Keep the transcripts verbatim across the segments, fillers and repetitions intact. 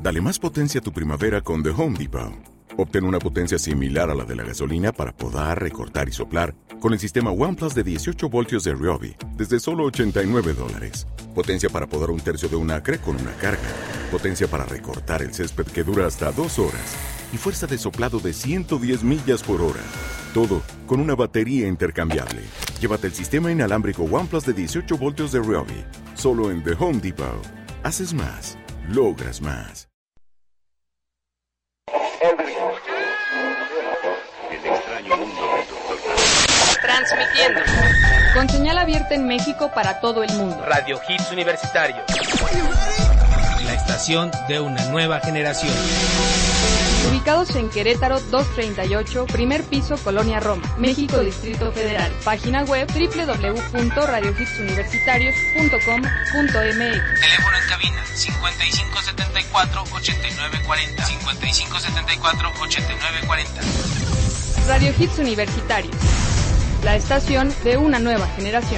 Dale más potencia a tu primavera con The Home Depot. Obtén una potencia similar a la de la gasolina para podar, recortar y soplar con el sistema OnePlus de dieciocho voltios de Ryobi desde solo ochenta y nueve dólares. Potencia para podar un tercio de un acre con una carga. Potencia para recortar el césped que dura hasta dos horas. Y fuerza de soplado de ciento diez millas por hora. Todo con una batería intercambiable. Llévate el sistema inalámbrico OnePlus de dieciocho voltios de Ryobi. Solo en The Home Depot. Haces más. Logras más. El extraño mundo del doctor. Transmitiendo. Con señal abierta en México para todo el mundo. Radio Hits Universitarios. La estación de una nueva generación. Ubicados en Querétaro doscientos treinta y ocho, primer piso, Colonia Roma, México, Distrito Federal. Página web doble u doble u doble u punto radio hits universitarios punto com punto m x. Teléfono en cabina cincuenta y cinco setenta y cuatro ochenta y nueve cuarenta. cincuenta y cinco setenta y cuatro ochenta y nueve cuarenta. Radio Hits Universitarios. La estación de una nueva generación.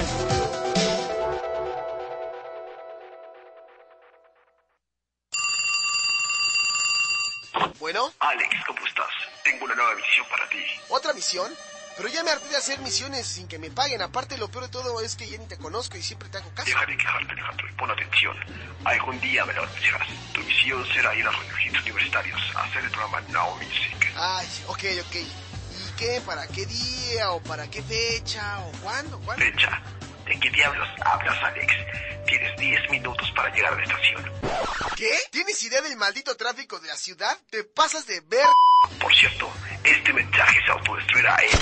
Bueno, Alex, ¿cómo estás? Tengo una nueva misión para ti. ¿otra misión? Pero ya me harté de hacer misiones sin que me paguen. Aparte, lo peor de todo es que ya ni te conozco y siempre te hago caso. Deja de quejarte, Alejandro, y pon atención. Algún día me lo anunciarás. Tu misión será ir a Radio Hits Universitarios a hacer el programa Now Music. Ay, ok, ok. ¿Y qué? ¿Para qué día? ¿O para qué fecha? ¿O cuándo? ¿Cuándo? Fecha. ¿De qué diablos hablas, Alex? Tienes diez minutos para llegar a la estación. ¿Qué? ¿Tienes idea del maldito tráfico de la ciudad? ¿Te pasas de ver? Por cierto, este mensaje se autodestruirá, ¿eh?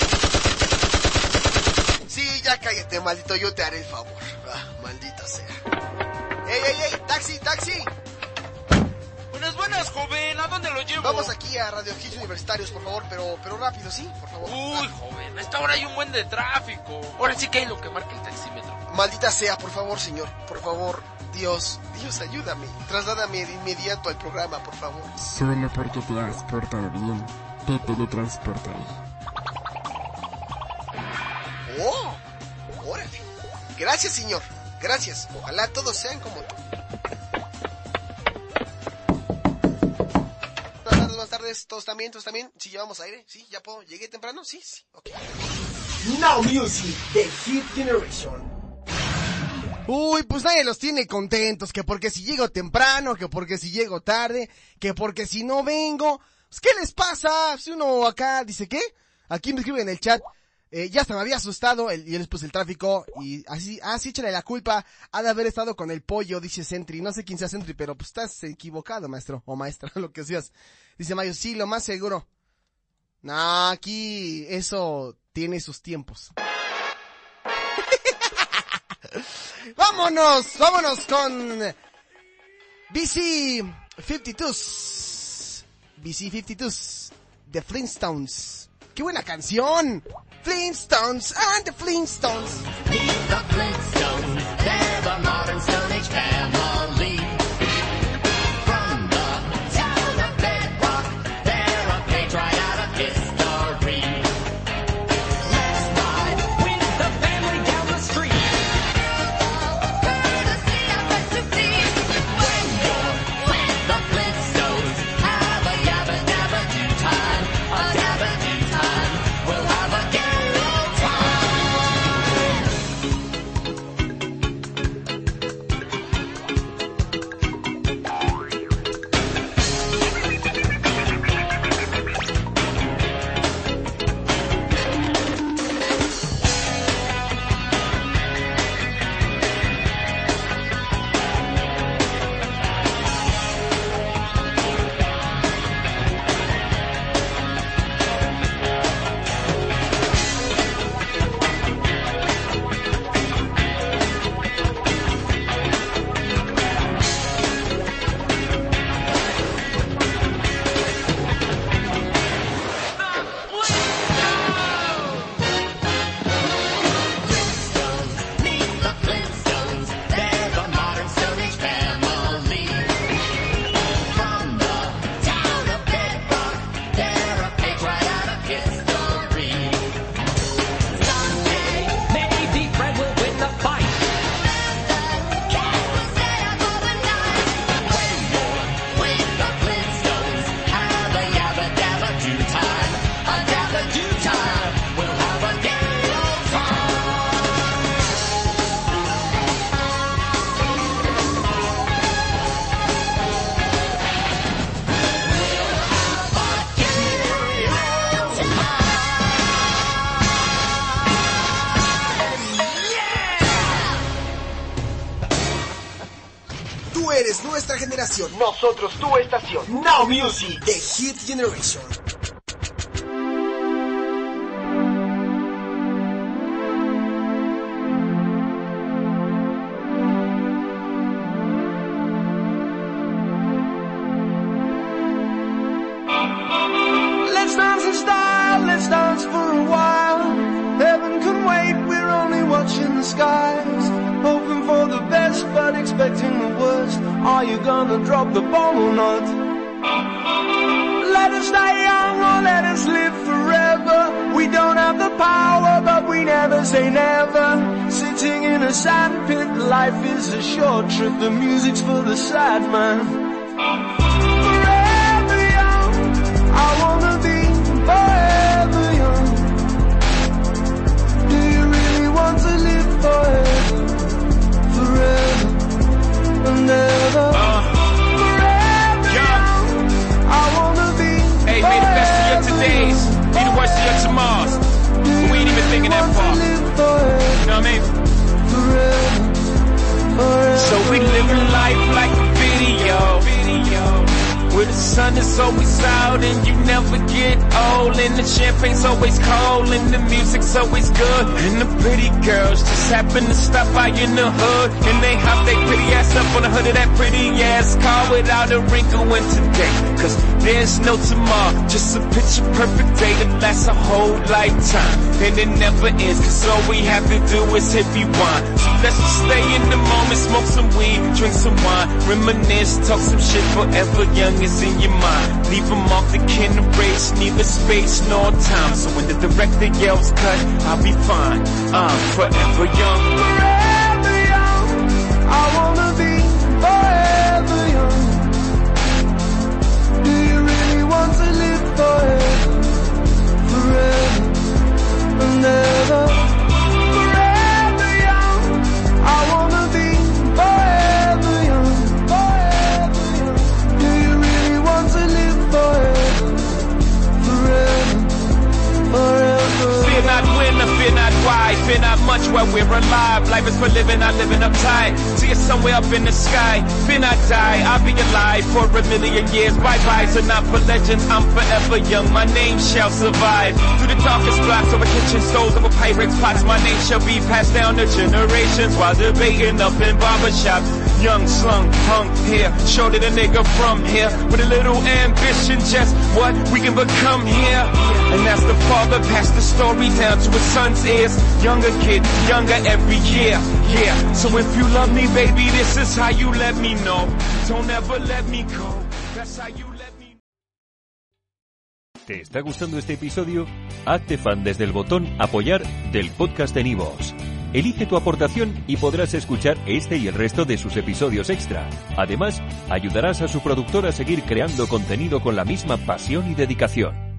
Sí, ya cállate, maldito, yo te haré el favor. Ah, maldita sea. ¡Ey, ey, ey! ¡Taxi, taxi! Buenas, buenas, joven. ¿A dónde lo llevo? Vamos aquí a Radio Hits Universitarios, por favor, pero pero rápido, ¿sí? Por favor. Uy, ah. joven, a esta hora hay un buen de tráfico. Ahora sí que hay lo que marca el taxímetro. Maldita sea, por favor, señor. Por favor, Dios, Dios, ayúdame. Trasládame de inmediato al programa, por favor. Solo porque te has portado bien, te teletransportaré. ¡Oh! ¡Órale! Gracias, señor. Gracias. Ojalá todos sean como tú. Buenas tardes, buenas tardes. ¿Todos también? ¿Todos también? ¿Sí llevamos aire? ¿Sí? ¿Ya puedo? ¿Llegué temprano? Sí, sí. Ok. Now Music, The Hit Generation. Uy, pues nadie los tiene contentos, que porque si llego temprano, que porque si llego tarde, que porque si no vengo. Pues, ¿qué les pasa? Si uno acá dice, ¿qué? Aquí me escriben en el chat, eh, ya hasta me había asustado, el, y después el tráfico, y así, ah, sí, échale la culpa, ha de haber estado con el pollo, dice Sentry. No sé quién sea Sentry, pero pues estás equivocado, maestro, o maestra, lo que seas. Dice Mayo, sí, lo más seguro. No, aquí eso tiene sus tiempos. Vámonos, vámonos con B C cincuenta y dos. B C cincuenta y dos, The Flintstones. ¡Qué buena canción! Flintstones and the Flintstones. Meet the Flintstones, they're the modern Stone Age family. From the town of Bedrock, they're a page right out of history. Let's ride with the family down the street. Courtesy of S U P. When you're with the Flintstones, have a yabba dabba do time, a dabba do time. We'll have a gay old time. estación, nosotros tu estación. Now Music, The Hit Generation. Let's dance in style, let's dance for a while. Heaven can wait, we're only watching the skies. Hoping for the best, but expecting the worst. Are you gonna drop the bomb or not? Let us die young or let us live forever. We don't have the power, but we never say never. Sitting in a sandpit, life is a short trip. The music's for the sad man. Forever young, I wanna be forever young. Do you really want to live forever? Forever and ever. Uh, Forever young, I wanna be Hey, may the best of your todays be the worst of your tomorrows. But we ain't even thinking that far. You know what I mean? So we living life like a video. Where the sun is always out and you never get old. And the champagne's always cold and the music's always good. And the pretty girls just happen to stop by in the hood. And they hop their pretty ass up on the hood of that pretty ass car without a wrinkle in today. Cause there's no tomorrow, just a picture perfect day that lasts a whole lifetime. And it never ends, cause all we have to do is hit rewind. So let's just stay in the moment, smoke some weed, drink some wine, reminisce, talk some shit. Forever young is in your mind. Leave them off the kin race, neither space nor time. So when the director yells cut, I'll be fine. I'm forever young. forever young, I wanna be forever young. Do you really want to live forever? Forever and ever. Forever young, I wanna be forever young. Forever young. Do you really want to live forever? Forever, forever. Fear not when or fear not why, fear not much while we're alive. Life is for living, not living uptight. See it somewhere up in the sky. Fear not die, I'll be alive for a million years. Bye-bye, so not for legends, I'm forever young. My name shall survive. Through the darkest blocks over kitchen stoves, over Pyrex pots, my name shall be passed down to generations while debating up in barbershops. Young, slung, hung here, showed it a nigga from here. With a little ambition, just what we can become here. And as the father passed the story down to his son's ears. Younger kid, younger every year, yeah. So if you love me, baby, this is how you let me know. Don't ever let me go. That's how you let me. ¿Te está gustando este episodio? Hazte fan desde el botón Apoyar del podcast de Nivos. Elige tu aportación y podrás escuchar este y el resto de sus episodios extra. Además, ayudarás a su productor a seguir creando contenido con la misma pasión y dedicación.